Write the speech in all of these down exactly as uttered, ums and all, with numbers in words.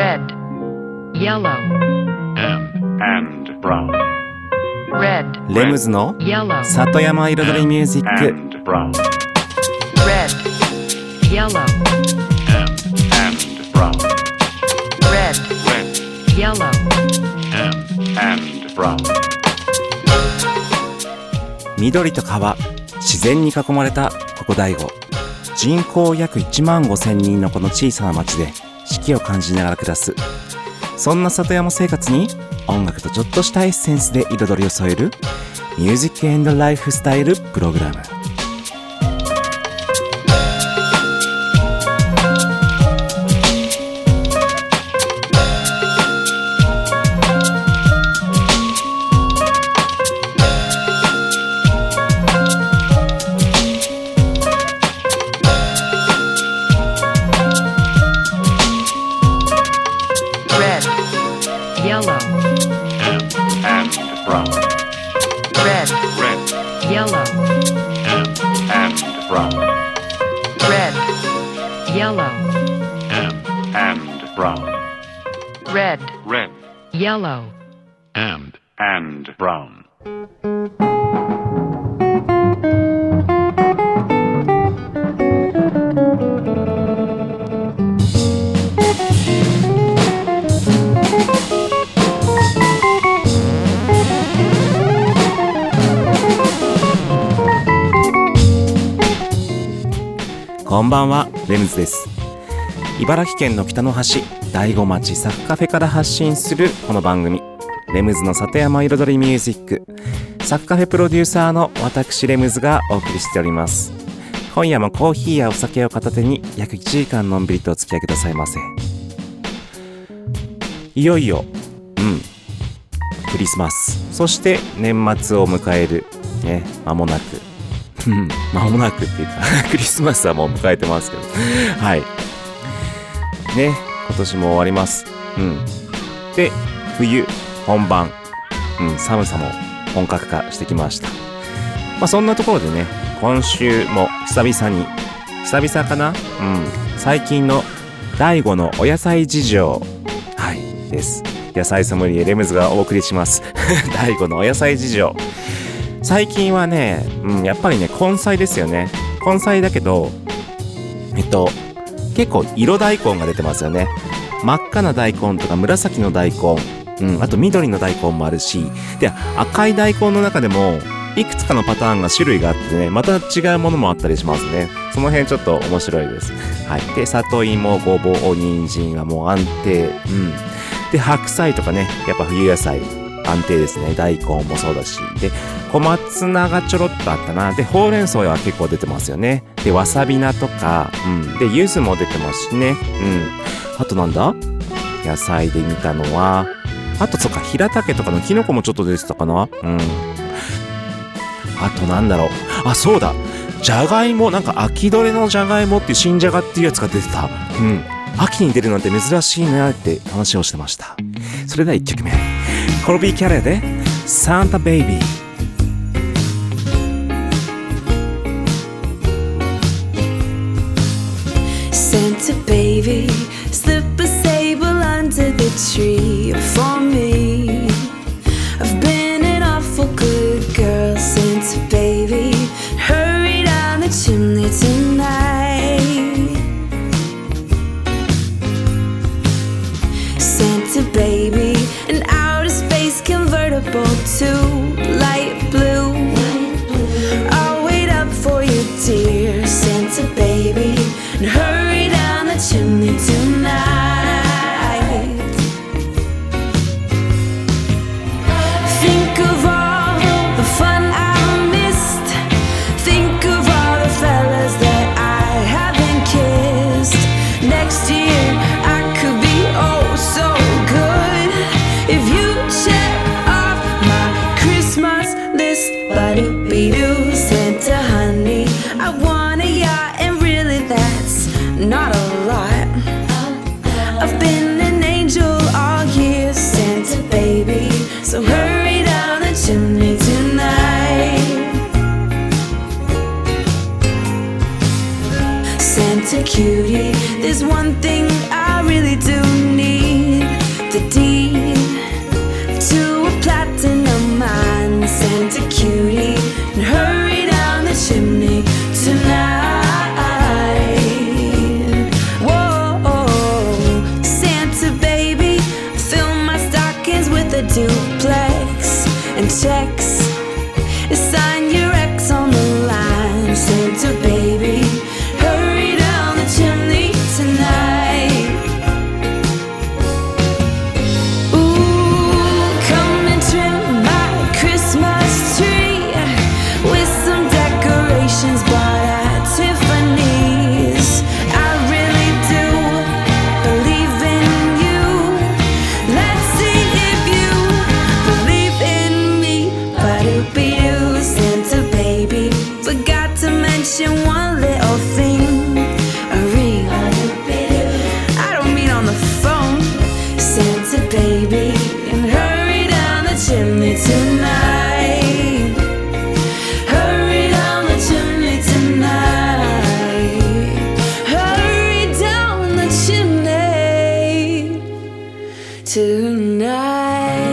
red, yellow, and, and brown. red, レムズの yellow, 里山彩りミュージック。 And brown. red, yellow, And, and brown. red, Red. yellow, And, and brown. 緑と川、自然に囲まれたここ大悟。人口約いちまんごせんにんのこの小さな町で四季を感じながら暮らす。そんな里山生活に音楽とちょっとしたエッセンスで彩りを添えるミュージック&ライフスタイルプログラム。 yellow, And, and brown. red, Red. yellow, And, and brown. red, yellow, And, and brown. red, Red. yellow, And, and brown. こんばんは、レムズです。茨城県の北の端、大子町サクカフェから発信するこの番組、レムズの里山彩りミュージック。サクカフェプロデューサーの私レムズがお送りしております。今夜もコーヒーやお酒を片手に約いちじかんのんびりとお付き合いくださいませ。いよいよ、うん、クリスマス、そして年末を迎えるね、間もなく。間もなくっていうかクリスマスはもう迎えてますけどはいね、今年も終わります。うんで、冬本番、うん、寒さも本格化してきました。まあそんなところでね、今週も久々に久々かな、うん、最近の大悟のお野菜事情、はいです。野菜ソムリエレムズがお送りします大悟のお野菜事情。最近はね、うん、やっぱりね、根菜ですよね。根菜だけど、えっと、結構色大根が出てますよね。真っ赤な大根とか紫の大根、うん、あと緑の大根もあるし、で、赤い大根の中でも、いくつかのパターンが種類があってね、また違うものもあったりしますね。その辺ちょっと面白いです。はい。で、里芋、ごぼう、人参はもう安定。うん。で、白菜とかね、やっぱ冬野菜。安定ですね。大根もそうだし。で、小松菜がちょろっとあったな。で、ほうれん草は結構出てますよね。で、わさび菜とか、うん。で、柚子も出てますしね。うん。あとなんだ？野菜で見たのは、あとそっか、平竹とかのキノコもちょっと出てたかな。うん。あとなんだろう。あ、そうだ。じゃがいも、なんか秋どれのじゃがいもっていう新じゃがっていうやつが出てた。うん。秋に出るなんて珍しいなって話をしてました。それではいっきょくめ。コロビーキャレーでサンタベイビー。 Santa baby, slip a sable under the tree for me. I've been an awful good girl, Santa baby. Hurry down the chimney tonight. Santa baby, an outer space convertible to light blue. I'll wait up for you, dear Santa baby, and hurry down the chimney tonight. Think of all the fun I missed. Think of all the fellas that I haven't kissed. Next year I could be oh so good if you check off my Christmas list. Ba-do-be-doo, Santa honey, I want a yacht, and really that's not a lot. I've been an angel all year, Santa baby, so hurry down the chimney tonight. Santa cutie, there's one thing I really do need. and checks. Sign your ex on the line. Santa baby, hurry down the chimney tonight. Ooh, come and trim my Christmas tree with some decorations bought at Tiffany's. I really do believe in you. Let's see if you believe in me. Ba-do-be-doo, Santa baby, forgot to mention one little thing. A ring. I don't mean on the phone. Santa baby, and hurry down the chimney tonight. Hurry down the chimney tonight. Hurry down the chimney tonight.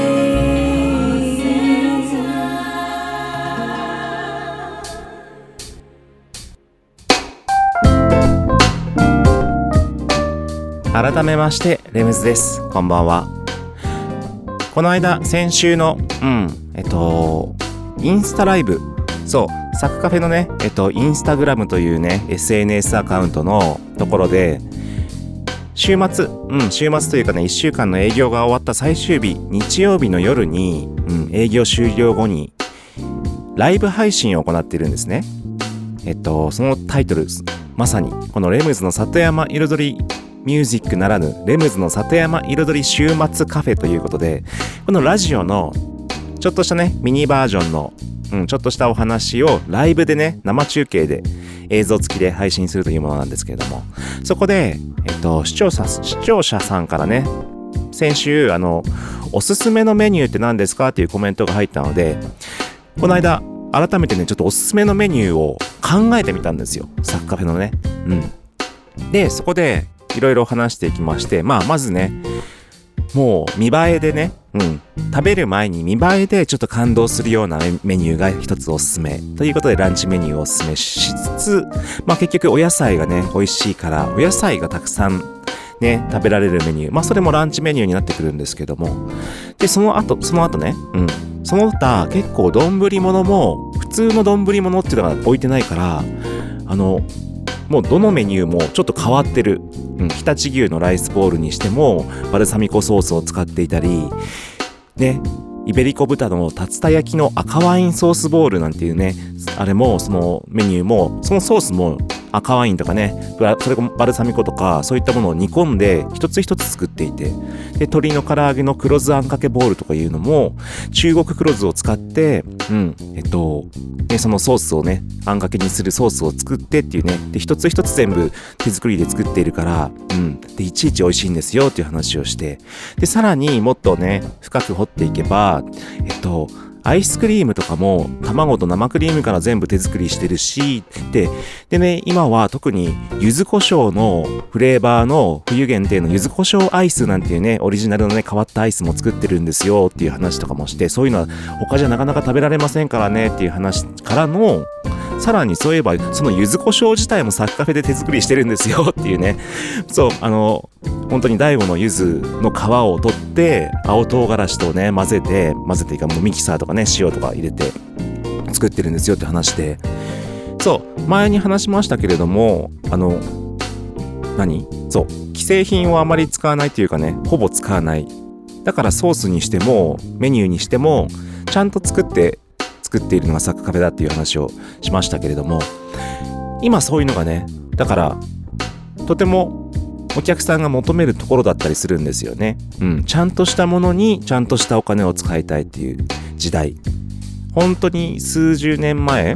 改めましてレムズです。こんばんは。この間先週のうんえっとインスタライブ、そうサクカフェのねえっとインスタグラムというね エスエヌエス アカウントのところで週末うん週末というかねいっしゅうかんの営業が終わった最終日日曜日の夜に、うん、営業終了後にライブ配信を行っているんですね。えっとそのタイトルまさにこのレムズの里山彩りミュージックならぬレムズの里山彩り週末カフェということで、このラジオのちょっとしたねミニバージョンの、うん、ちょっとしたお話をライブでね生中継で映像付きで配信するというものなんですけれども、そこで、えっと、視聴者視聴者さんからね先週あのおすすめのメニューって何ですかっていうコメントが入ったので、この間改めてねちょっとおすすめのメニューを考えてみたんですよ、サクカフェのね。うんでそこでいろいろ話していきまして、まあまずねもう見栄えでね、うん、食べる前に見栄えでちょっと感動するようなメニューが一つおすすめということでランチメニューをおすすめしつつ、まあ結局お野菜がね美味しいからお野菜がたくさんね食べられるメニュー、まあそれもランチメニューになってくるんですけども、でその後その後ね、うん、その他結構丼物も普通の丼物っていうのが置いてないから、あのもうどのメニューもちょっと変わってる、うん、常陸牛のライスボールにしてもバルサミコソースを使っていたりね、イベリコ豚の竜田焼きの赤ワインソースボールなんていうね、あれもそのメニューもそのソースも赤ワインとかね、それもバルサミコとかそういったものを煮込んで一つ一つ作っていて、で鶏の唐揚げの黒酢あんかけボールとかいうのも中国黒酢を使ってうんえっとでそのソースをねあんかけにするソースを作ってっていうね、で一つ一つ全部手作りで作っているからうんでいちいち美味しいんですよっていう話をして、でさらにもっとね深く掘っていけばえっとアイスクリームとかも卵と生クリームから全部手作りしてるし、で、でね、今は特に柚子胡椒のフレーバーの冬限定の柚子胡椒アイスなんていうね、オリジナルのね、変わったアイスも作ってるんですよっていう話とかもして、そういうのは他じゃなかなか食べられませんからねっていう話からの、さらにそういえばその柚子胡椒自体もサクカフェで手作りしてるんですよっていうね、そうあの本当に大悟の柚子の皮を取って青唐辛子とね混ぜて混ぜていいかもうミキサーとかね塩とか入れて作ってるんですよって話で、そう前に話しましたけれども、あの何そう既製品をあまり使わないというかね、ほぼ使わない、だからソースにしてもメニューにしてもちゃんと作って作っているのがサクカフェだっていう話をしましたけれども、今そういうのがねだからとてもお客さんが求めるところだったりするんですよね。うん、ちゃんとしたものにちゃんとしたお金を使いたいっていう時代、本当に数十年前、うん、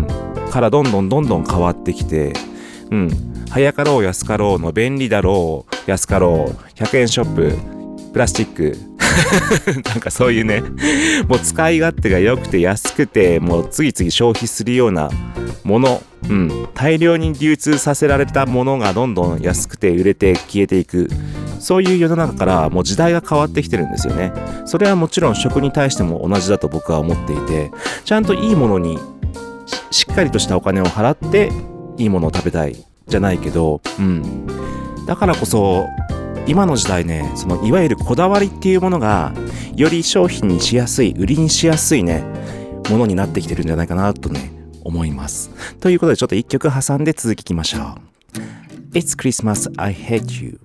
からどんどんどんどん変わってきて、うん、早かろう安かろうの便利だろう安かろうひゃくえんショッププラスチックなんかそういうねもう使い勝手が良くて安くてもう次々消費するようなもの、うん、大量に流通させられたものがどんどん安くて売れて消えていく、そういう世の中からもう時代が変わってきてるんですよね。それはもちろん食に対しても同じだと僕は思っていて、ちゃんといいものに し, しっかりとしたお金を払っていいものを食べたいじゃないけど、うん、だからこそ今の時代ね、そのいわゆるこだわりっていうものがより商品にしやすい、売りにしやすいねものになってきてるんじゃないかなとね思います。ということでちょっと一曲挟んで続きいきましょう。 It's Christmas, I hate you。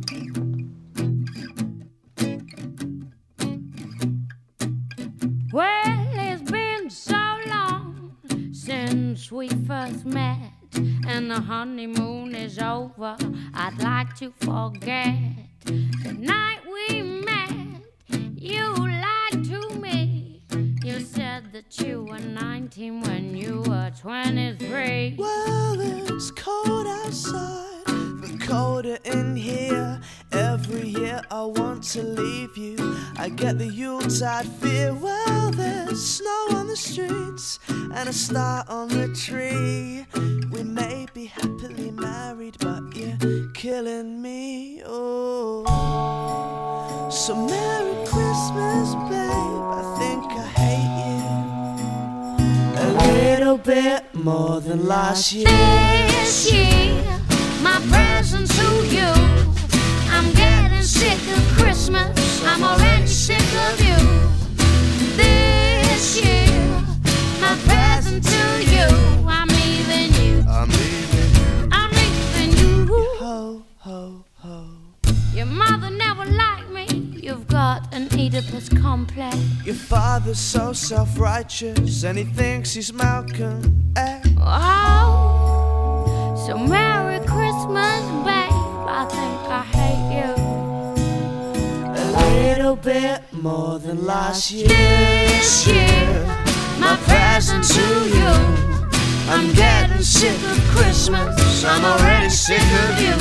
Well, it's been so long since we first met, and the honeymoon is over. I'd like to forget the night we met. You lied to me. You said that you were nineteen when you were twenty-three. Well, it's cold outside, but colder in here. Every year I want to leave you. I get the Yuletide fear. Well, there's snow on the streets and a star on the tree. We may be happily married, but you're killing me. Oh, so Merry Christmas, babe. I think I hate you a little bit more than last year. This year, my present to you. I'm getting sick of Christmas. I'm already sick of you. This year, my present to you. I'm leaving you. I'm leaving you. I'm leaving you. Ho, ho, ho. Your mother never liked me. You've got an Oedipus complex. Your father's so self-righteous and he thinks he's Malcolm X. Oh, so Merry Christmas, babe. I think I hate you a little bit more than last year. this year. My present to you. I'm getting sick of Christmas. I'm already sick of you.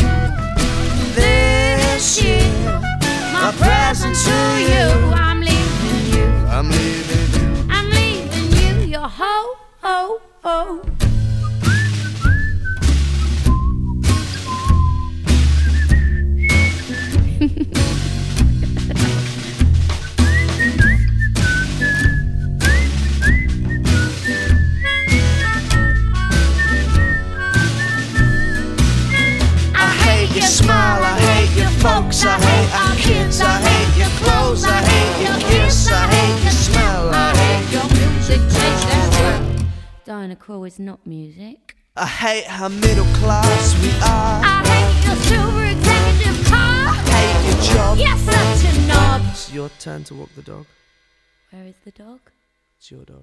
This year, my present to you. I'm leaving you. I'm leaving you. I'm leaving you. You're ho ho ho. Your smile, I hate your folks, I hate our kids, I hate your clothes, I hate your kiss, I hate your smell, I hate your music taste as well. Diana Krall is not music. I hate how middle class we are. I hate your silver executive car. I hate your job. Yes, such a knob. It's your turn to walk the dog. Where is the dog? It's your dog.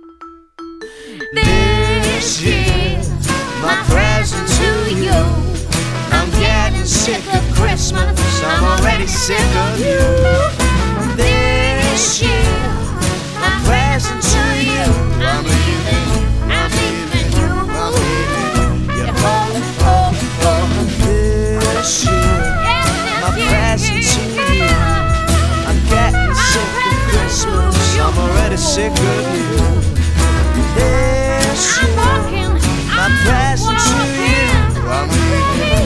This year, my present to you. I'm getting sick of Christmas. I'm already sick of you. This year, my present to you. I'm leaving you. I'm leaving you. I'm leaving you. Ho, ho, ho. This year, my present to you. I'm getting sick of Christmas. I'm already sick of you. This year, my present to you. I'm leaving you.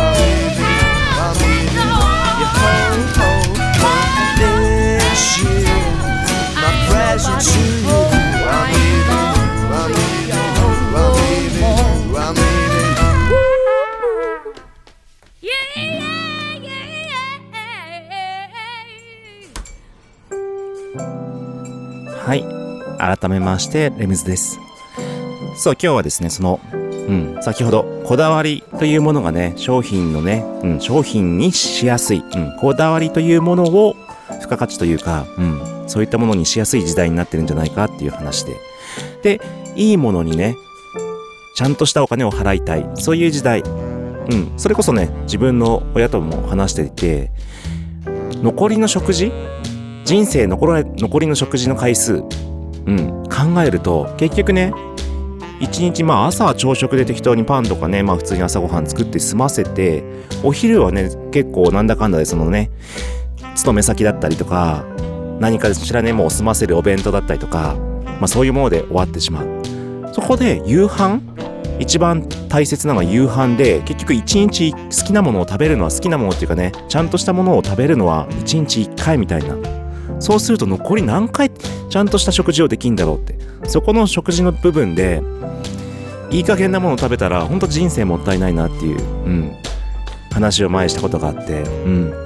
To you, I'm leaving, I'm leaving, I'm leaving, I'm leaving. Yeah, yeah, yeah. はい、改めましてレムズです。そう、今日はですね、その、うん、先ほどこだわりというものがね、商品のね、うん、商品にしやすい、うん、こだわりというものを付加価値というか、うん、そういったものにしやすい時代になってるんじゃないかっていう話で、で、いいものにね、ちゃんとしたお金を払いたい、そういう時代、うん、それこそね、自分の親とも話していて、残りの食事、人生残り残りの食事の回数、うん、考えると結局ね、一日、まあ朝は朝食で適当にパンとかね、まあ普通に朝ごはん作って済ませて、お昼はね、結構なんだかんだでそのね、勤め先だったりとか、何かしらね、もう済ませるお弁当だったりとか、まあそういうもので終わってしまう。そこで夕飯、一番大切なのは夕飯で、結局一日好きなものを食べるのは好きなものっていうかね、ちゃんとしたものを食べるのは一日一回みたいな。そうすると残り何回ちゃんとした食事をできんだろうって。そこの食事の部分で、いい加減なものを食べたら本当人生もったいないなっていう、うん、話を前したことがあって、うん。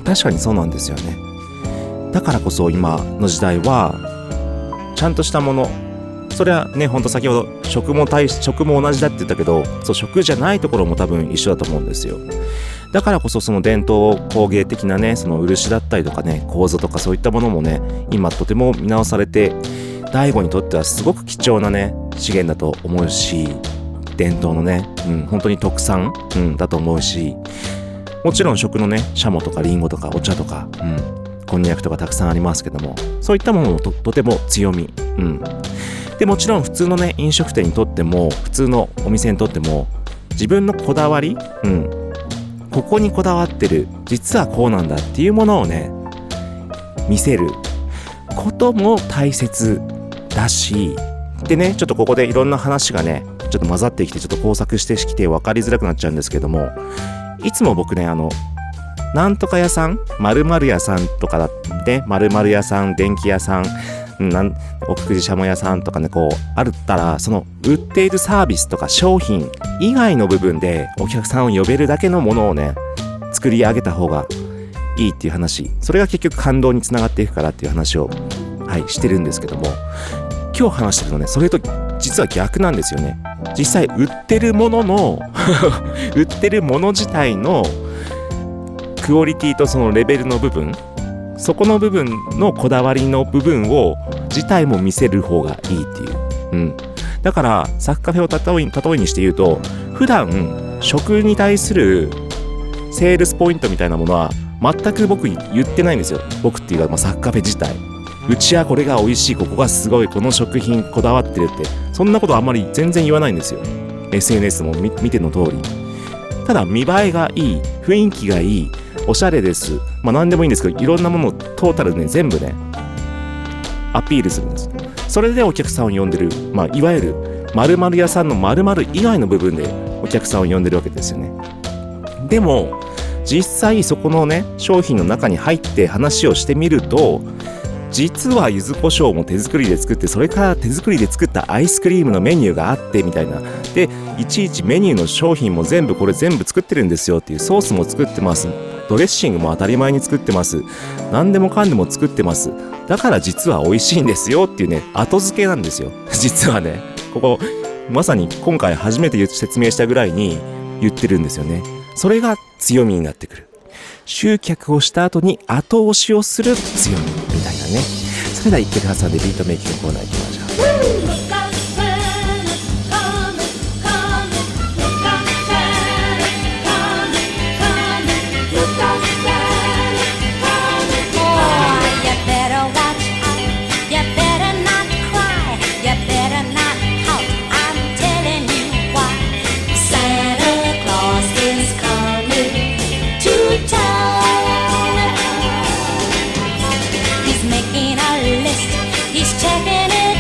確かにそうなんですよね。だからこそ今の時代はちゃんとしたもの、それはね、ほんと先ほど食も対食も同じだって言ったけど、そう食じゃないところも多分一緒だと思うんですよ。だからこそその伝統工芸的なね、その漆だったりとかね、構造とかそういったものもね、今とても見直されて、大悟にとってはすごく貴重なね資源だと思うし、伝統のね、うん、本当に特産、うん、だと思うし、もちろん食のね、シャモとかリンゴとかお茶とか、うん、こんにゃくとかたくさんありますけども、そういったものも と, とても強み、うん、でもちろん普通のね飲食店にとっても、普通のお店にとっても自分のこだわり、うん、ここにこだわってる、実はこうなんだっていうものをね見せることも大切だし、でね、ちょっとここでいろんな話がねちょっと混ざってきて、ちょっと交錯してきて分かりづらくなっちゃうんですけども、いつも僕ね、あのなんとか屋さん、〇〇屋さんとかだってね、〇〇屋さん、電気屋さん、なん奥久慈しゃも屋さんとかね、こうあるったら、その売っているサービスとか商品以外の部分でお客さんを呼べるだけのものをね作り上げた方がいいっていう話、それが結局感動につながっていくからっていう話を、はい、してるんですけども、今日話してるのね、それと実は逆なんですよね。実際売ってるものの売ってるもの自体のクオリティとそのレベルの部分、そこの部分のこだわりの部分を自体も見せる方がいいっていう、うん、だからサクカフェを例えに、例えにして言うと、普段食に対するセールスポイントみたいなものは全く僕言ってないんですよ。僕っていうか、まあ、サクカフェ自体、うちはこれが美味しい、ここがすごい、この食品こだわってるって、そんなことあんまり全然言わないんですよ。 エスエヌエス も 見, 見ての通り、ただ見栄えがいい、雰囲気がいい、おしゃれです、まあ何でもいいんですけど、いろんなものをトータルで、ね、全部ねアピールするんです。それでお客さんを呼んでる、まあいわゆる〇〇屋さんの〇〇以外の部分でお客さんを呼んでるわけですよね。でも実際そこのね商品の中に入って話をしてみると、実は柚子胡椒も手作りで作って、それから手作りで作ったアイスクリームのメニューがあってみたいな、でいちいちメニューの商品も全部これ全部作ってるんですよっていう、ソースも作ってます、ドレッシングも当たり前に作ってます、何でもかんでも作ってます、だから実は美味しいんですよっていうね、後付けなんですよ実はね、ここまさに今回初めて説明したぐらいに言ってるんですよね。それが強みになってくる。集客をした後に後押しをする強みみたいなね。それでは一曲挟んでビートメイキングコーナー行きましょう。 He's checking it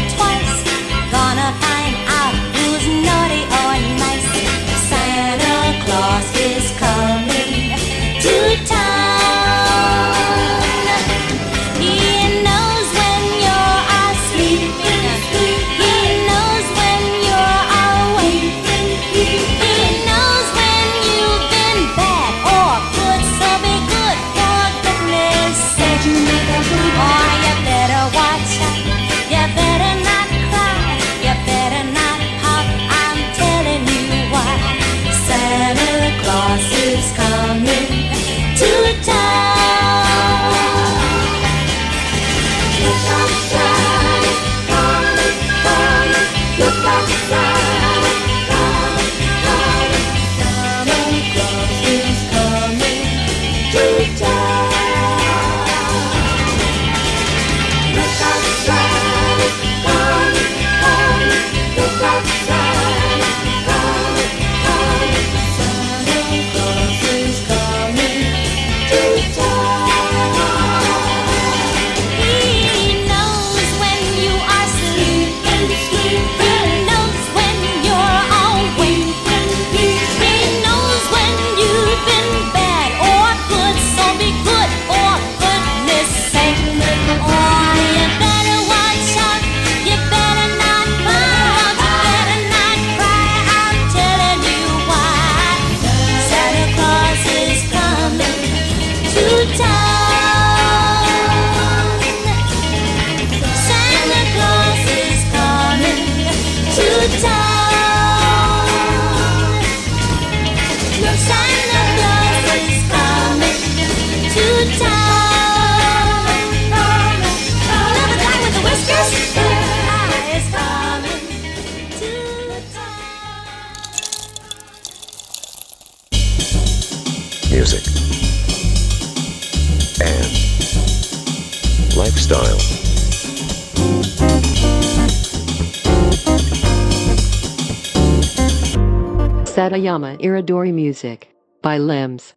Music and lifestyle. Satayama Iridori Music by Limbs.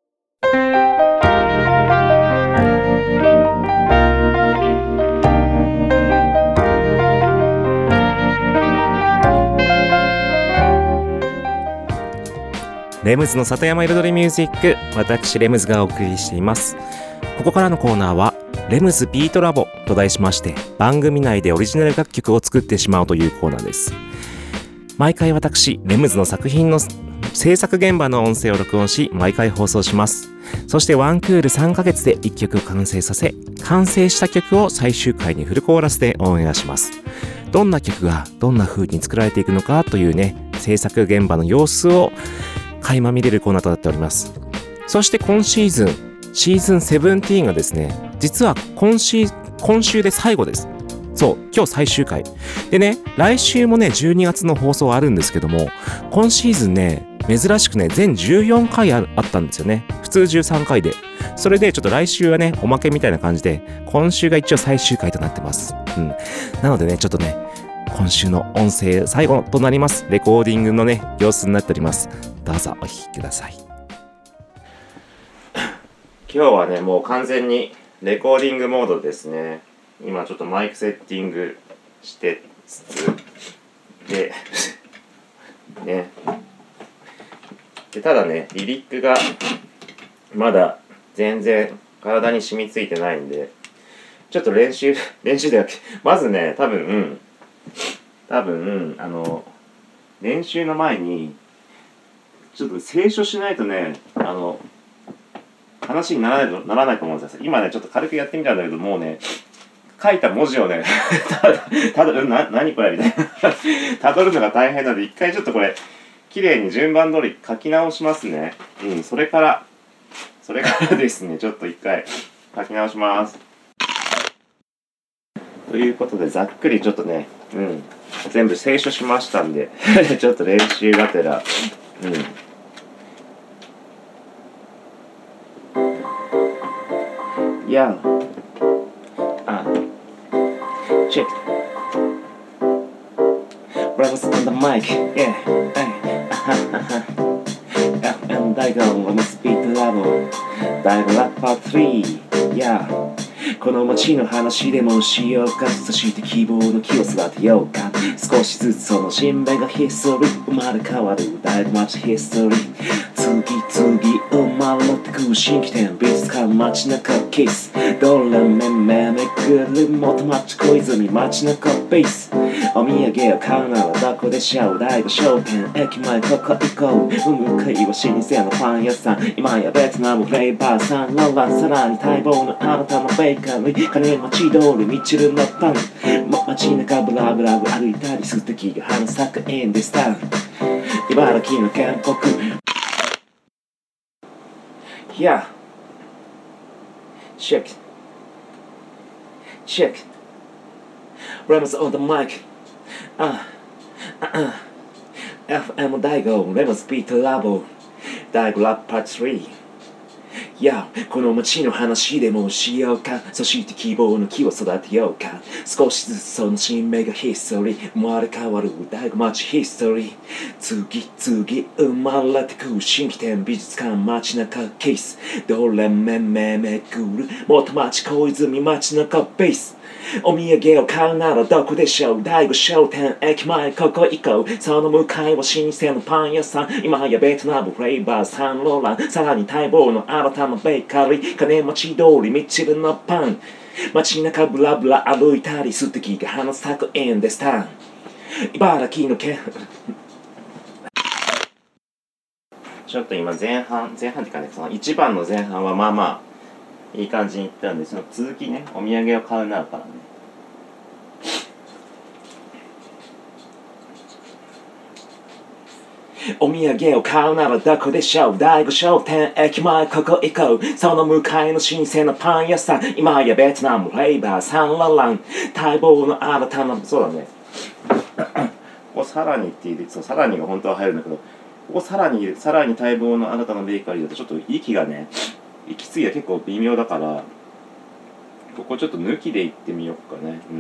レムズの里山彩りミュージック、私レムズがお送りしています。ここからのコーナーはレムズビートラボと題しまして、番組内でオリジナル楽曲を作ってしまうというコーナーです。毎回私レムズの作品の制作現場の音声を録音し、毎回放送します。そしてワンクールさんかげつでいっきょく完成させ、完成した曲を最終回にフルコーラスでオンエアします。どんな曲がどんな風に作られていくのかというね、制作現場の様子を垣間見れるコーナーとなっております。そして今シーズンシーズンセブンティーンがですね、実は今週今週で最後です。そう、今日最終回でね、来週もねじゅうにがつの放送あるんですけども、今シーズンね珍しくね全じゅうよんかい あ, あったんですよね。普通じゅうさんかいで、それでちょっと来週はねおまけみたいな感じで、今週が一応最終回となってます。うん、なのでねちょっとね今週の音声最後となります。レコーディングのね様子になっております。どうぞお聴きください。今日はねもう完全にレコーディングモードですね。今ちょっとマイクセッティングしてつつでねで、ただねリリックがまだ全然体に染みついてないんで、ちょっと練習練習ではまずね多分、うん、多分あの練習の前にちょっと清書しないとね、あの話にならないとならないと思うんですよ。今ねちょっと軽くやってみたんだけど、もうね書いた文字をねただただな何これみたいな辿るのが大変なので、一回ちょっとこれ綺麗に順番通り書き直しますね。うん、それからそれからですね、ちょっと一回書き直します。ということでざっくりちょっとね、うん、全部清書しましたんでちょっと練習がてら、うん。Yeah. Uh. Check. Brothers on the mic. Yeah. Hey. F M Daigon on the speed level. Daigon Rap Part three. Yeah.この街の話でもしようか、そして希望の木を育てようか。少しずつその新芽がヒストリー生まれ変わる大学町ヒストリー。次々生まれ持ってく新規店、美術館街中キス。どれめめめくる元町小泉街中ベース。お土産を買うならどこでしょう、大悟商店駅前ここ行こう。向かいは老舗のパン屋さん、今やベトナムフレーバーさん。ロランさらに待望のあなたのベーカリー。金町通りミチルのパン、ま、街中ブラブラ歩いたり素敵が花咲くエンデスタン、茨城の県北。Yeah. Check. Check. Ramos on the mic. Uh. Uh-uh. F M Daigo. Ramos Beat Labo. Daigo Rap Part three.いや、この街の話でもしようか、そして希望の木を育てようか。少しずつその新芽がヒストリー生まれ変わる大学町ヒストリー。次々生まれてく新規店、美術館街中ケース。どれめめめくる元町小泉街中ベース。お土産を買うならどこでしょう、大悟商店駅前ここ行こう。その向かいは老舗のパン屋さん、今やベトナムフレーバーサンローラン、さらに待望の新たなベーカリー。金町通りミチルのパン、街中ブラブラ歩いたり素敵が花咲くエンデスタン、茨城の県ちょっと今前半前半っていうかね、そのいちばんの前半はまあまあいい感じにいったんで、その続きね、お土産を買うなからね。 お土産を買うならどこでしょう。第五商店駅前ここ行こう。その向かいの新鮮なパン屋さん。今やベトナムフレーバーサンララン。待望の新たな、そうだね。ここさらにって言うと、さらにが本当は入るんだけど、ここさらに、さらに待望の新たなベーカリーだとちょっと息がね、息継ぎが結構微妙だから、ここちょっと抜きで行ってみようかね。うん。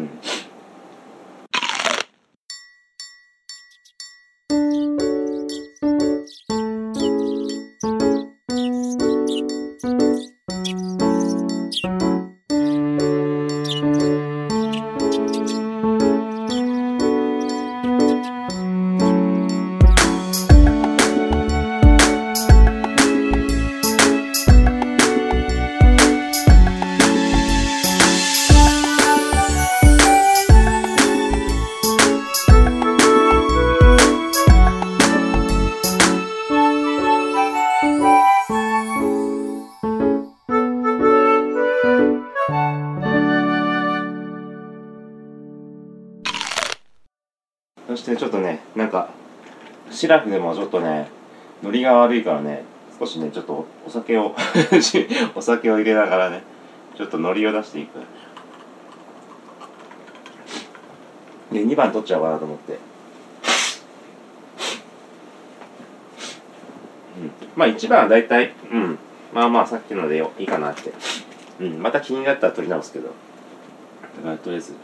そしてちょっとね、なんかシラフでもちょっとね、ノリが悪いからね、少しね、ちょっとお酒をお酒を入れながらね、ちょっとノリを出していく。で、にばん取っちゃおうかなと思って。うん、まあいちばんはだいたい、うん、まあまあさっきのでいいかなって。うん、また気になったら取り直すけど。だからとりあえず。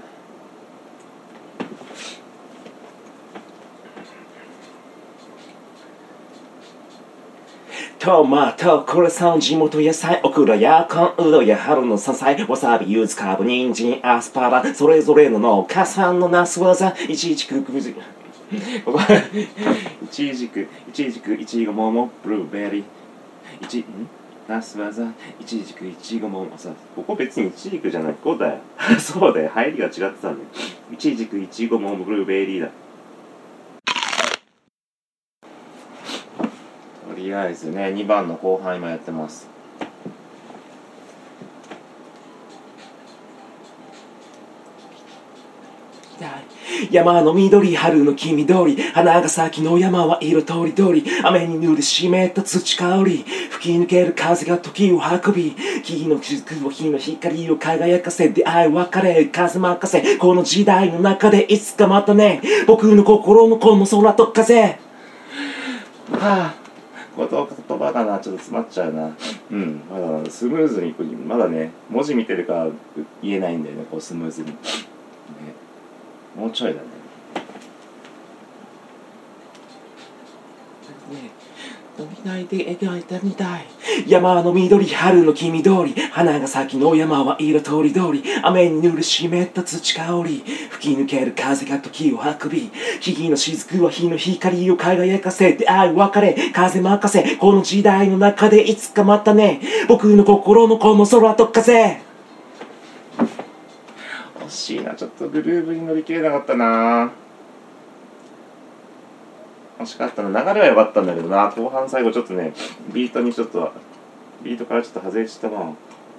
トマト、クレソン、地元野菜、オクラやコン、ウドや春の山菜、わさび、柚子、カブ、人参、アスパラ、それぞれの農家さんのナス技、いちじく、くず、ここ、いちじく、いちじく、いちご、桃、ブルーベリー、いち、んナス技、いちじく、いちご、桃、さ、ここ別にいちじくじゃない、ここだよ。そうだよ、入りが違ってたんだよ。いちじく、いちご、桃、ブルーベリーだ。とりあえずね、にばんの後半今やってます。山の緑、春の黄緑、花が咲きの山は色とりどり、雨に濡れ湿った土香り、吹き抜ける風が時を運び、木の雫を火の光を輝かせ、出会い別れ、風任せ、この時代の中でいつかまたね、僕の心のこの空と風。はあ、言葉がな、ちょっと詰まっちゃうな。うん、まだスムーズに、まだね、文字見てるから言えないんだよね、こうスムーズに。ね、もうちょいだね。ねえ、伸びないで描いたみたい。山の緑、春の黄緑、花が咲きの山は色とりどり、雨に濡れ湿った土香り、吹き抜ける風が時を運び、木々の雫は火の光を輝かせ、出会い別れ、風任せ、この時代の中でいつかまたね、僕の心のこの空と風。惜しいな、ちょっとグルーブに乗り切れなかったな。惜しかったな。流れは良かったんだけどな、後半最後ちょっとね、ビートにちょっとビートからちょっと外れちゃったな。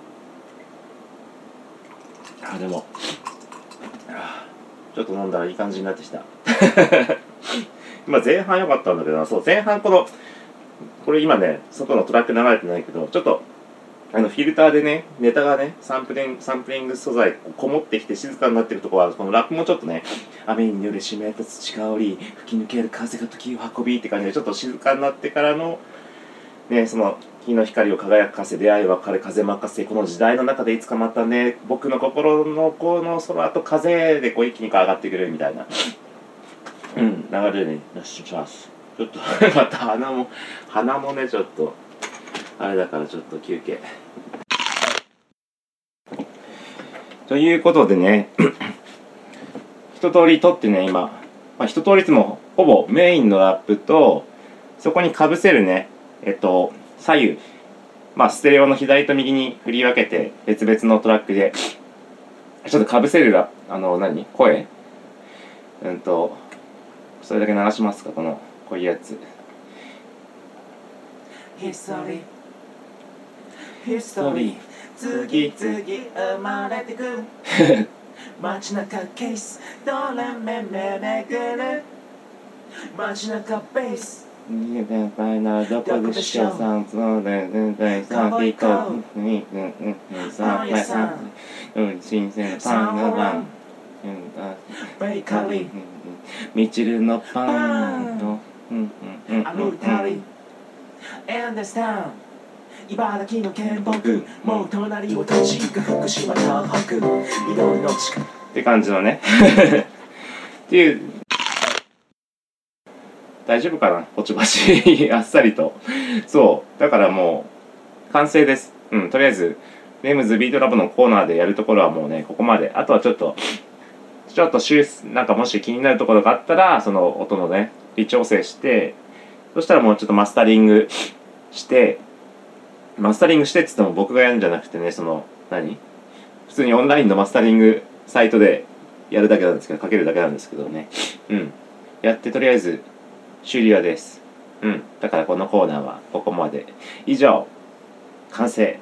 あ、でもちょっと飲んだらいい感じになってきた今前半良かったんだけどな。そう、前半このこれ今ね、外のトラック流れてないけど、ちょっとあのフィルターでね、ネタがね、サンプリング、サンプリング素材こもってきて静かになってるところは、このラップもちょっとね、雨に濡れ湿った土香り、吹き抜ける風が時を運びって感じで、ちょっと静かになってからのね、その日の光を輝かせ、出会い別れ、風任せ、この時代の中でいつかまたね、僕の心のこの空と風でこう一気に上がってくるみたいな、うん、流れでね、よし、します。ちょっとまた鼻も鼻もね、ちょっとあれだからちょっと休憩。ということでね、一通り撮ってね、今、まあ、一通りいつもほぼメインのラップと、そこにかぶせるね、えっと、左右、まあ、ステレオの左と右に振り分けて、別々のトラックで、ちょっとかぶせるラあの、何声うんと、それだけ流しますか、この、こういうやつ。ヒストリー、ヒストリー。次々生まれてく街中ケースどれめめめぐる街中ベース先輩ならどこでしょうさんそうだよね大さんピコうんうんうんさんぱいさんうん新鮮なパンがパンベーカリーみちるのパンとうんうんうんアルタリエンデスタウン茨城の県北もう隣を閉じく福島東北緑の地下って感じのねっていう大丈夫かなポチバチあっさりとそうだからもう完成です。うんとりあえずレムズビートラボのコーナーでやるところはもうねここまで。あとはちょっとちょっと修なんかもし気になるところがあったらその音のね微調整してそしたらもうちょっとマスタリングしてマスタリングしてっつっても僕がやるんじゃなくてねその何普通にオンラインのマスタリングサイトでやるだけなんですけどかけるだけなんですけどねうんやってとりあえず終了です。うんだからこのコーナーはここまで。以上完成。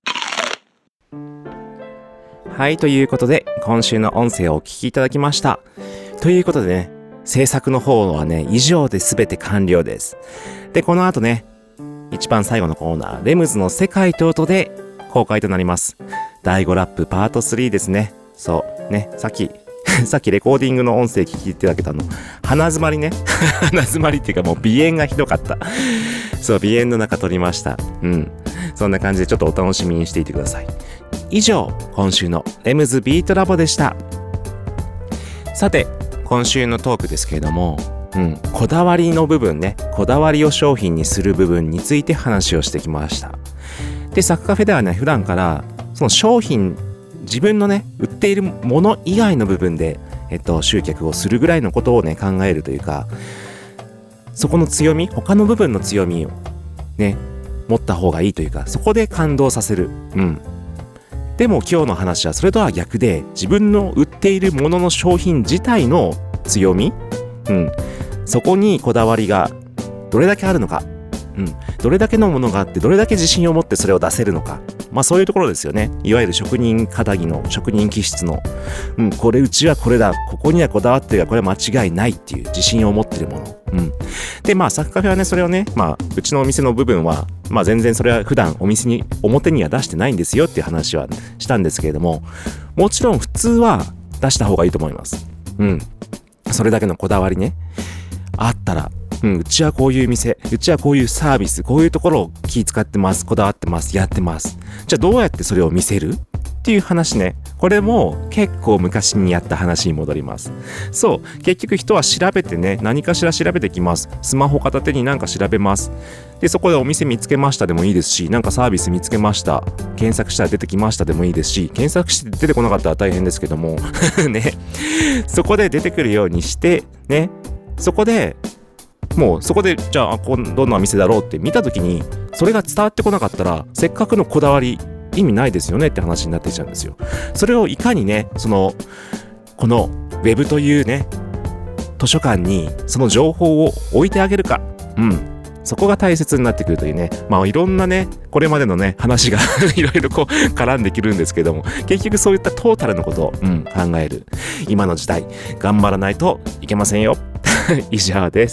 はいということで今週の音声をお聞きいただきました。ということでね制作の方はね以上で全て完了です。でこの後ね一番最後のコーナーレムズの世界と音で公開となります。だいごラップパートスリーですね。そうねさっきさっきレコーディングの音声聞いていただけたの鼻詰まりね鼻詰まりっていうかもう鼻炎がひどかった。そう鼻炎の中撮りました。うんそんな感じでちょっとお楽しみにしていてください。以上今週のレムズビートラボでした。さて今週のトークですけれどもうん、こだわりの部分ねこだわりを商品にする部分について話をしてきました。でサクカフェではね普段からその商品自分のね売っているもの以外の部分で、えっと、集客をするぐらいのことをね考えるというかそこの強み他の部分の強みをね持った方がいいというかそこで感動させる。うんでも今日の話はそれとは逆で自分の売っているものの商品自体の強みうんそこにこだわりがどれだけあるのか、うん、どれだけのものがあってどれだけ自信を持ってそれを出せるのかまあそういうところですよね。いわゆる職人かたぎの職人気質の、うん、これうちはこれだここにはこだわってるがこれは間違いないっていう自信を持ってるもの、うん、でまあサクカフェはねそれをねまあうちのお店の部分はまあ全然それは普段お店に表には出してないんですよっていう話はしたんですけれどももちろん普通は出した方がいいと思います。うんそれだけのこだわりねあったら、うん、うちはこういう店うちはこういうサービスこういうところを気使ってますこだわってますやってますじゃあどうやってそれを見せるっていう話ねこれも結構昔にやった話に戻ります。そう結局人は調べてね何かしら調べてきます。スマホ片手になんか調べますでそこでお店見つけましたでもいいですしなんかサービス見つけました検索したら出てきましたでもいいですし検索して出てこなかったら大変ですけどもねそこで出てくるようにしてねそこでもうそこでじゃあこどんな店だろうって見た時にそれが伝わってこなかったらせっかくのこだわり意味ないですよねって話になってきちゃうんですよ。それをいかにねそのこのウェブというね図書館にその情報を置いてあげるかうんそこが大切になってくるというねまあいろんなねこれまでのね話がいろいろこう絡んできるんですけども結局そういったトータルのことを、うん、考える今の時代頑張らないといけませんよ以上です。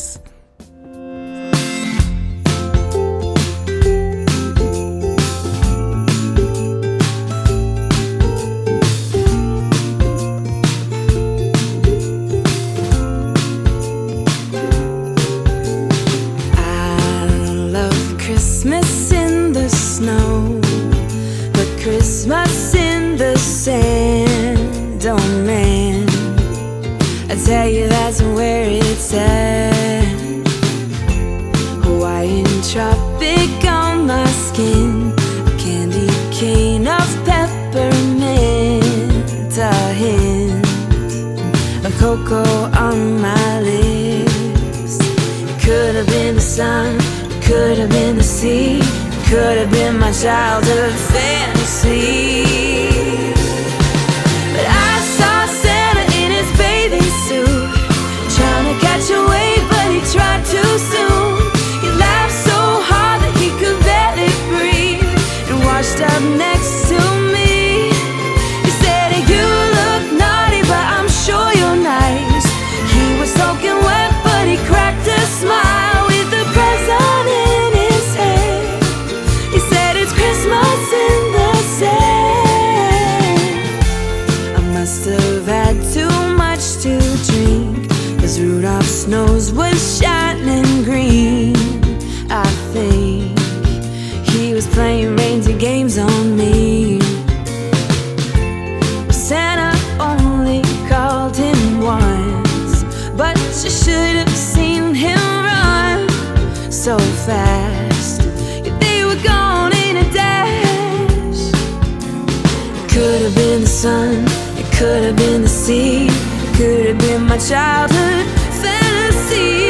Christmas in the sand, oh man, I tell you that's where it's at. Hawaiian tropic on my skin, a candy cane of peppermint, a hint of cocoa on my lips. It could have been the sun, it could have been the sea, could have been my childhood fantasy. But I saw Santa in his bathing suit, trying to catch a wave, but he tried too soon. He laughed so hard that he could barely breathe, and washed up next to me. He said, you look naughty, but I'm sure you're nice. He was soaking wet, but he cracked a smile with the present could have been the sun, it could have been the sea, it could have been my childhood fantasy.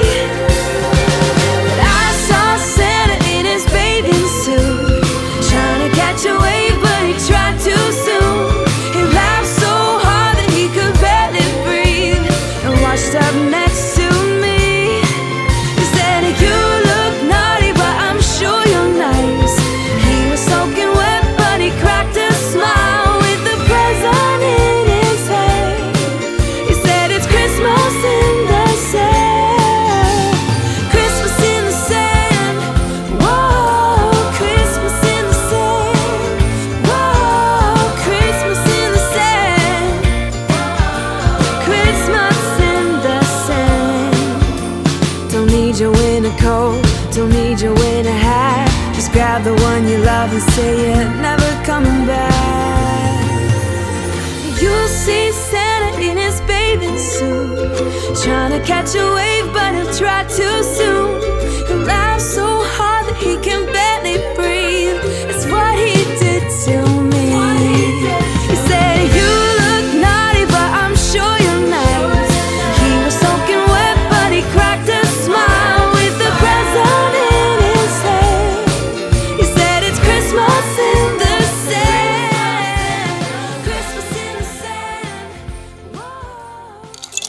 But I saw Santa in his bathing suit, trying to catch a wave, but he tried too soon. He laughed so hard that he could barely breathe, and washed up next to me. He said, you look naughty, but I'm sure you're nice. He was soaking wet, but he cracked a smile with the present in his hand. He said, it's Christmas in the sand. Christmas in the sand. Whoa, Christmas in the sand. Whoa, Christmas in the sand. Christmas in the sand. Don't need your winter coat, don't need your winter hat. Just grab the one you love and say you're never coming back. You'll see Santa in his bathing suit, trying to catch a wave, but he'll try too soon. He'll laugh so hard that he can barely breathe. It's what he did to me. He said, you look naughty, but I'm sure you're nice. He was soaking wet, but he cracked a smile with the present in his hand. He said, it's Christmas in the sand. Christmas in the sand. Whoa.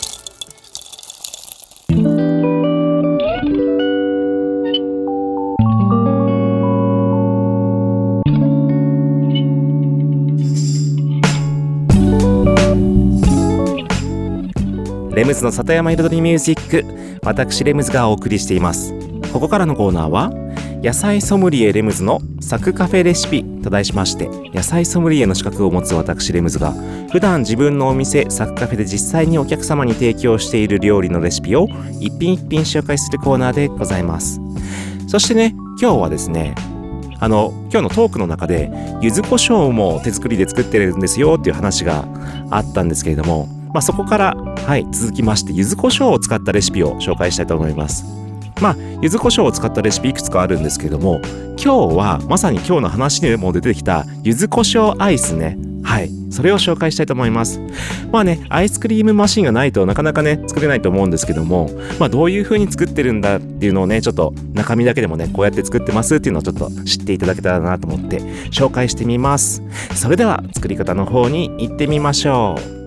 レムズの里山彩りミュージック、私レムズがお送りしています。ここからのコーナーは野菜ソムリエレムズのサクカフェレシピと題しまして、野菜ソムリエの資格を持つ私レムズが普段自分のお店サクカフェで実際にお客様に提供している料理のレシピを一品一品紹介するコーナーでございます。そしてね、今日はですね、あの今日のトークの中で柚子胡椒も手作りで作ってるんですよっていう話があったんですけれども、まあ、そこからはい続きまして柚子胡椒を使ったレシピを紹介したいと思います。まあ柚子胡椒を使ったレシピいくつかあるんですけれども、今日はまさに今日の話にも出てきた柚子胡椒アイスね、はいそれを紹介したいと思います。まあね、アイスクリームマシンがないとなかなかね作れないと思うんですけども、まあどういう風に作ってるんだっていうのをね、ちょっと中身だけでもねこうやって作ってますっていうのをちょっと知っていただけたらなと思って紹介してみます。それでは作り方の方に行ってみましょう。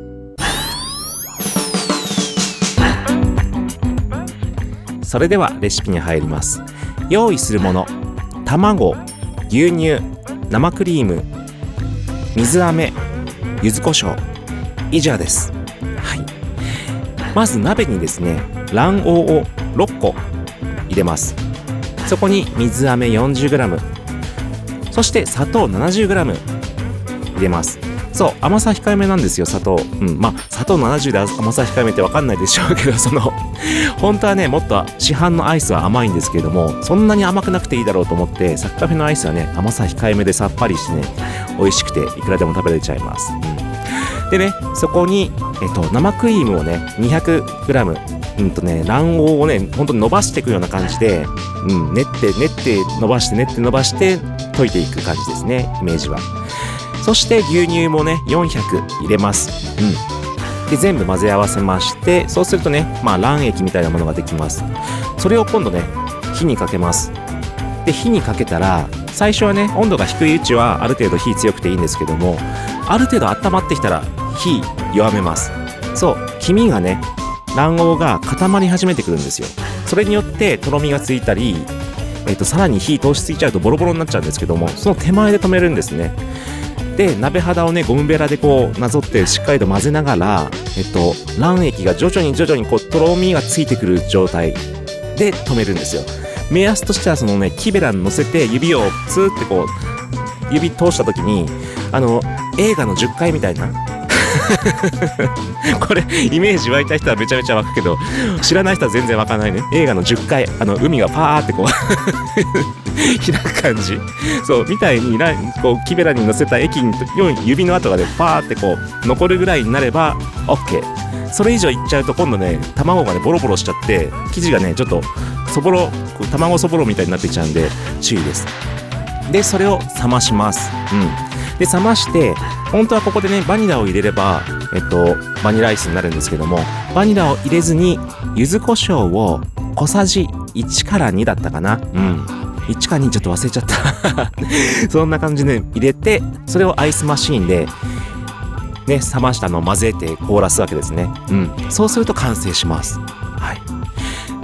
それではレシピに入ります。用意するもの、卵、牛乳、生クリーム、水飴、柚子胡椒、以上です。はい。まず鍋にですね、卵黄をろっこ入れます。そこに水飴 よんじゅうグラム、そして砂糖 ななじゅうグラム 入れます。そう、甘さ控えめなんですよ、砂糖。うん、まあ砂糖ななじゅうで甘さ控えめって分かんないでしょうけど、その本当はねもっと市販のアイスは甘いんですけれども、そんなに甘くなくていいだろうと思ってサクカフェのアイスはね甘さ控えめでさっぱりしてね美味しくていくらでも食べれちゃいます。うん、でね、そこに、えっと、生クリームをね にひゃくグラム、うんとね卵黄をね本当に伸ばしていくような感じで、うん、練って練って伸ばして練って伸ばして溶いていく感じですね、イメージは。そして牛乳もねよんひゃく入れます。うん。で全部混ぜ合わせまして、そうするとね、まあ卵液みたいなものができます。それを今度ね火にかけます。で火にかけたら、最初はね温度が低いうちはある程度火強くていいんですけども、ある程度温まってきたら火弱めます。そう、黄身がね卵黄が固まり始めてくるんですよ。それによってとろみがついたり、えっとさらに火通しすぎちゃうとボロボロになっちゃうんですけども、その手前で止めるんですね。で鍋肌をねゴムベラでこうなぞってしっかりと混ぜながら、えっと卵液が徐々に徐々にこうとろみがついてくる状態で止めるんですよ。目安としてはそのね木べらに乗せて指をツーってこう指通した時に、あの映画のじゅっかいみたいなこれイメージ湧いた人はめちゃめちゃ湧くけど、知らない人は全然湧かないね。映画のじゅっかい、あの海がパーってこう開く感じ、そうみたいにこう木べらに乗せた液に指の跡がねパーってこう残るぐらいになれば OK。 それ以上いっちゃうと今度ね卵がねボロボロしちゃって生地がねちょっとそぼろ卵そぼろみたいになってきちゃうんで注意です。でそれを冷まします。うんで冷まして、本当はここでねバニラを入れればえっとバニラアイスになるんですけども、バニラを入れずに柚子胡椒を小さじいちからにだったかな、うんいちかにちょっと忘れちゃったそんな感じで入れて、それをアイスマシーンでね冷ましたのを混ぜて凍らすわけですね。うんそうすると完成します。はい。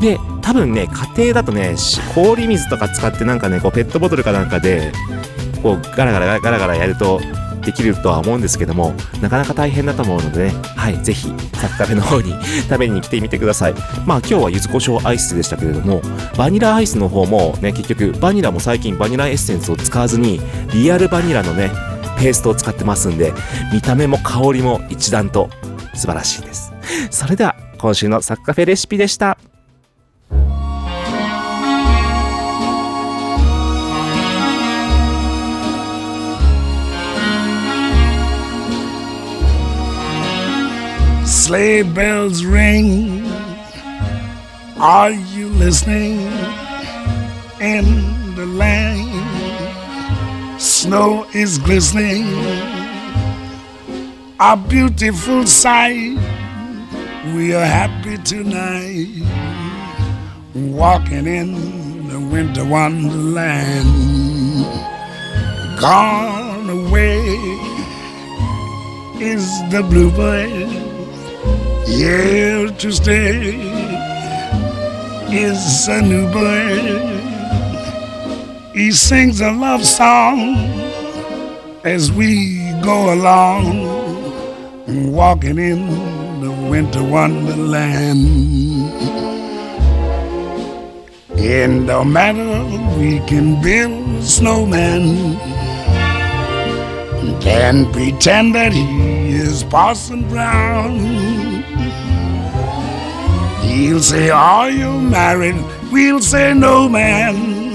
で多分ね家庭だとね氷水とか使ってなんかねこうペットボトルかなんかでこうガラガラガラガラやるとできるとは思うんですけども、なかなか大変だと思うのでね、はい、ぜひサクカフェの方に食べに来てみてください。まあ今日は柚子胡椒アイスでしたけれども、バニラアイスの方もね、結局バニラも最近バニラエッセンスを使わずにリアルバニラのねペーストを使ってますんで、見た目も香りも一段と素晴らしいです。それでは今週のサクカフェレシピでした。 Sleigh bells ring. Are you listening? In the lane, snow is glistening. A beautiful sight. We are happy tonight, walking in the winter wonderland. Gone away is the bluebird. Here to stay is a new bird. He sings a love song as we go along, walking in the winter wonderland. In the matter we can build a snowman, can pretend that he is Parson Brown. He'll say, are you married? We'll say, no, man.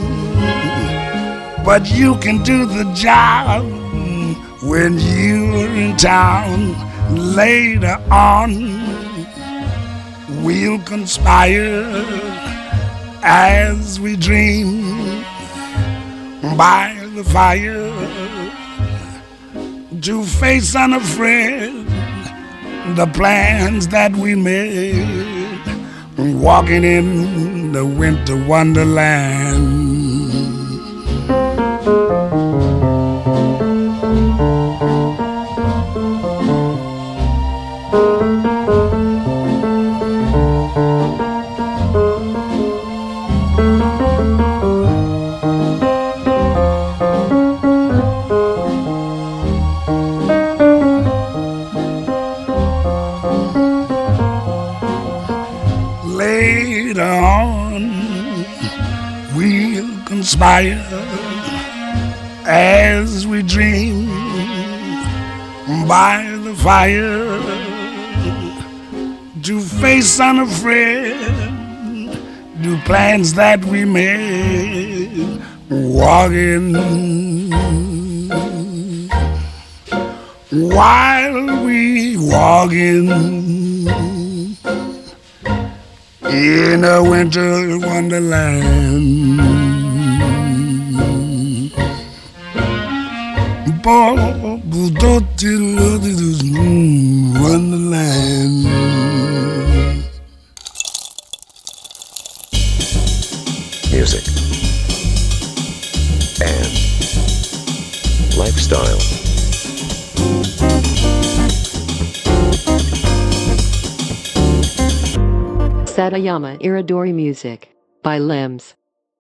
But you can do the job when you're in town. Later on, we'll conspire as we dream by the fire to face unafraid the plans that we made, walking in the winter wonderland. Conspire as we dream by the fire to face unafraid the plans that we made, walking while we walking in a winter wonderland. Wonderland. Music and lifestyle. Satayama Iridori Music by Limbs.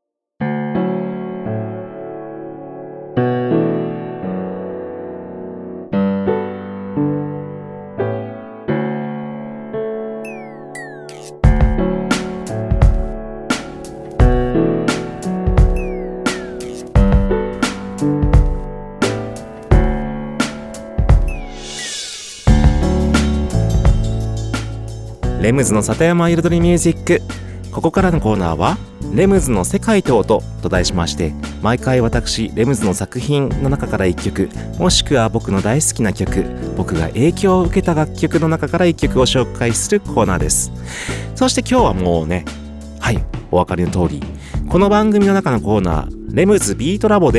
レムズの里山彩りミュージック。ここからのコーナーはレムズの世界と音と題しまして、毎回私レムズの作品の中からいっきょく、もしくは僕の大好きな曲、僕が影響を受けた楽曲の中からいっきょくを紹介するコーナーです。そして今日はもうね、はい、お分かりの通り、この番組の中のコーナーレムズビートラボで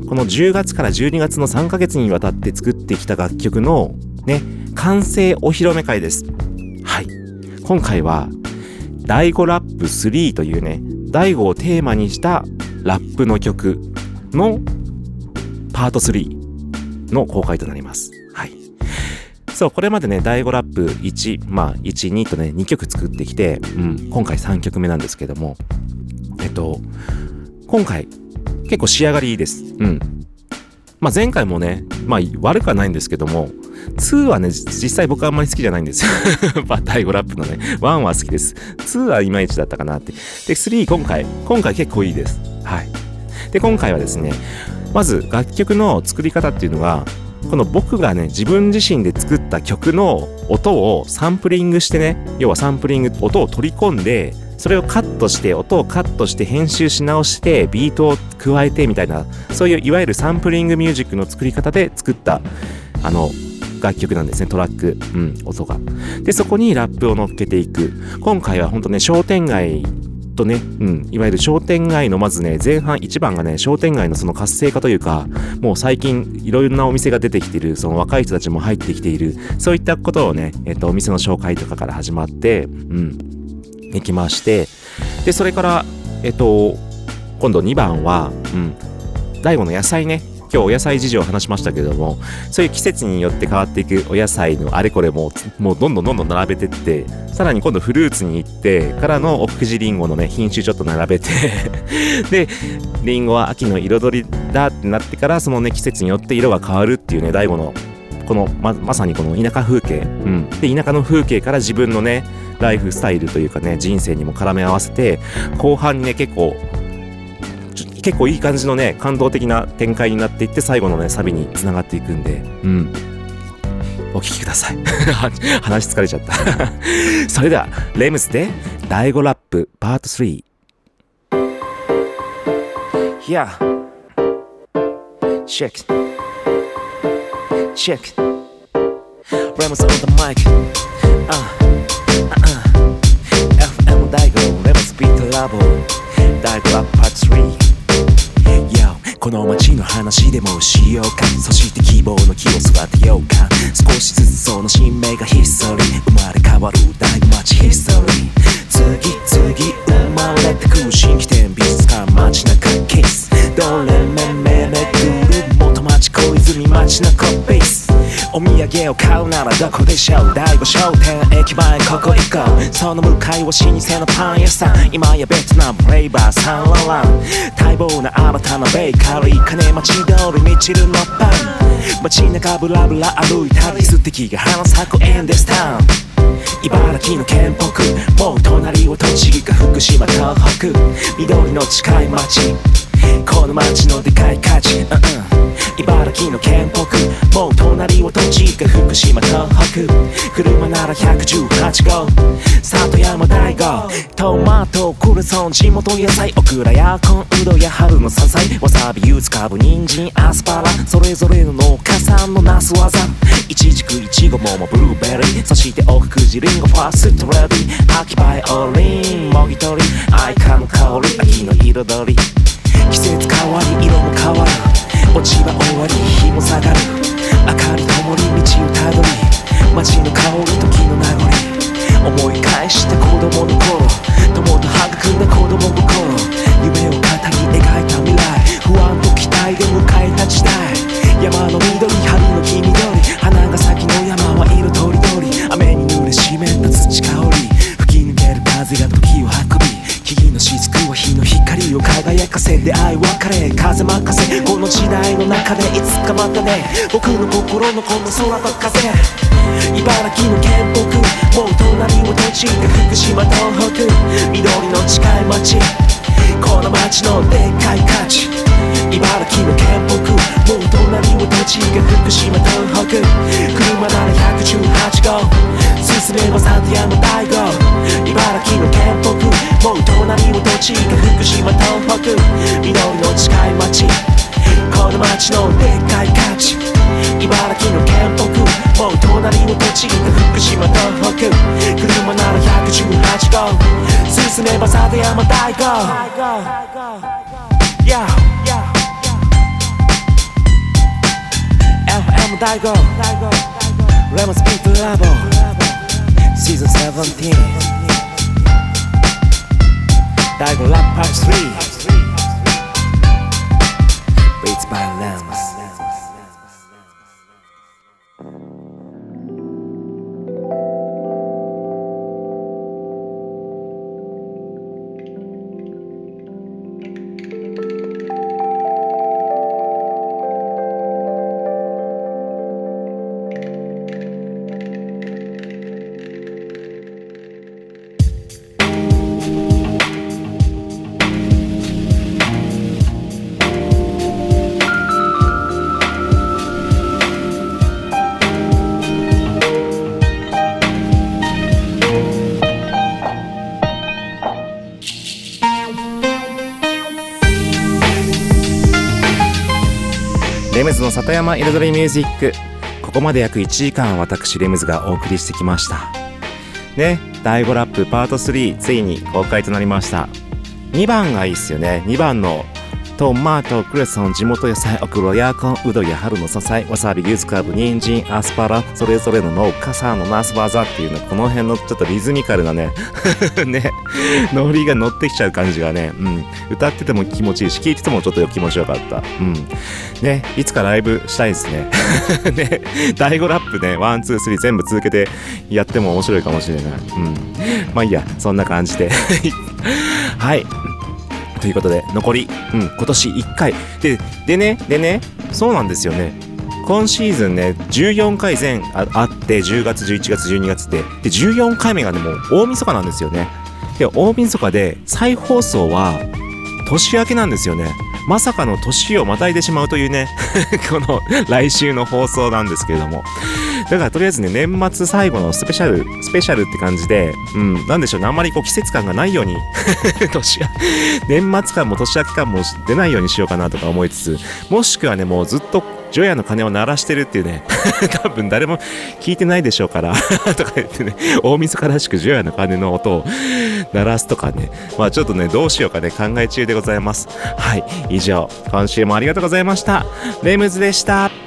このじゅうがつからじゅうにがつのさんかげつにわたって作ってきた楽曲のね、完成お披露目会です。はい。今回は、だいごラップスリーというね、だいごをテーマにしたラップの曲のパートスリーの公開となります。はい。そう、これまでね、だいごラップいち、まあ、いち、にとね、にきょく作ってきて、うん、今回さんきょくめなんですけども、えっと、今回、結構仕上がりいいです。うん。まあ、前回もね、まあ、悪くはないんですけども、にはね、実際僕はあんまり好きじゃないんですよ。だいごラップのね、いちは好きです。にはいまいちだったかなって。で、さん今回、今回結構いいです。はい。で、今回はですね、まず楽曲の作り方っていうのが、この僕がね、自分自身で作った曲の音をサンプリングしてね、要はサンプリング、音を取り込んで、それをカットして、音をカットして編集し直して、ビートを加えてみたいな、そういういわゆるサンプリングミュージックの作り方で作った、あの、楽曲なんですね、トラック、うん、音が。で、そこにラップを乗っけていく。今回はほんとね、商店街とね、うん、いわゆる商店街のまずね、前半いちばんがね、商店街のその活性化というか、もう最近いろいろなお店が出てきている、その若い人たちも入ってきている、そういったことをね、えっと、お店の紹介とかから始まって、うん、行きまして、で、それから、えっと、今度にばんは、うん、だいごの野菜ね、今日お野菜事情を話しましたけども、そういう季節によって変わっていくお野菜のあれこれももうどんどんどんどん並べてって、さらに今度フルーツに行ってからのおふじリンゴのね品種ちょっと並べてでリンゴは秋の彩りだってなってから、そのね季節によって色が変わるっていうね、だいごのこの ま, まさにこの田舎風景、うん、で田舎の風景から自分のねライフスタイルというかね人生にも絡め合わせて、後半にね結構結構いい感じのね感動的な展開になっていって、最後のねサビに繋がっていくんで、うんお聞きください話疲れちゃったそれではレムズでだいごラップパートスリー。 Yeah Check Check Remus on the mic uh, uh, uh. エフエム だいご Remus Beat Labo だいごラップパートスリー。この街の話でもしようか、そして希望の木を育てようか、少しずつその新芽がヒストリー、生まれ変わる大街ヒストリー、次々生まれてく新規店美術館街中ケース、どれめめめぐる元町小泉街中ベース、お土産を買うならどこでしょう、だいご商店駅前ここ行こう、その向かいは老舗のパン屋さん、今やベトナムフレーバーサンララン、待望な新たなベーカリー、金町通りみちるのパン、街中ブラブラ歩いたり素敵が花咲くエンデスタウン、茨城の県北、もう隣は栃木か福島東北、緑の近い町、この町のでかい価値、うんうん、茨城の県北、もう隣は栃木か福島東北、車ならひゃくじゅうはちごう、里山大悟、トマトクレソン地元野菜、オクラやコンウドや春の山菜、わさび柚子かぶ人参アスパラ、それぞれの農家さんのなす技、イチジクイチゴ桃ブルーベリー、そしておくじリンゴファーストレディ、秋バイオリンもぎ取り、アイカの香り秋の彩り、季節変わり色も変わる、落ち葉終わり日も下がる、明かり灯り道をたどり、街の香り時の名残、思い返して子供の頃、友と育んだ子供の頃、夢を語り描いた未来、不安と期待で迎えた時代、山の緑春の黄緑、花が咲きの山は色とりどり、雨に濡れ湿った土香り、吹き抜ける風が時を運び、木々の雫は日の光を輝かせ、出会い別れ風任せ、この時代の中でいつかまたね、僕の心のこの空と風、茨城の県北、もう隣は栃木か福島東北、緑の近い町、この町のでっかい価値、茨城の県北、もう隣は栃木か福島東北、車ならひゃくじゅうはちごう、進めば里山大悟、茨城の県北、もう隣は栃木か福島東北、緑の近い町、この町のでっかい価値、茨城の県北、もう隣は栃木か福島東北、車ならひゃくじゅうはちごう、進めば里山大悟、yeah, yeah, も大悟レモンスピートラボシーズンセブンティーン大悟ラップパートスリー Beats by Lems レムズの里山彩りミュージック、ここまで約いちじかん私レムズがお送りしてきましたね。だいごラップパートスリーついに公開となりました。にばんがいいっすよね。にばんのトマト、クレソン、地元野菜、オクラ、ヤーコン、ウドや春の野菜、わさび、ユースカブ、人参、アスパラ、それぞれの農家さんのナスバザっていうね、この辺のちょっとリズミカルなねね、ノリが乗ってきちゃう感じがね、うん、歌ってても気持ちいいし、聴いててもちょっと気持ちよかった。うん。ね、いつかライブしたいですね。ね、だいごラップね、ワン、ツー、スリー全部続けてやっても面白いかもしれない。うん。まあいいや、そんな感じで。はい。ということで残り、うん、今年いっかいででねでねそうなんですよね。今シーズンねじゅうよんかい全 あ, あってじゅうがつじゅういちがつじゅうにがつででじゅうよんかいめがねもう大晦日なんですよね。で大晦日で再放送は年明けなんですよね。まさかの年をまたいでしまうというねこの来週の放送なんですけれども、だからとりあえずね年末最後のスペシャルスペシャルって感じで、うんなんでしょうね、あんまりこう季節感がないように年年末感も年明け感も出ないようにしようかなとか思いつつ、もしくはねもうずっと除夜の鐘を鳴らしてるっていうね多分誰も聞いてないでしょうからとか言ってね、大晦日らしく除夜の鐘の音を鳴らすとかね、まあちょっとねどうしようかね考え中でございます。はい、以上今週もありがとうございました。レムズでした。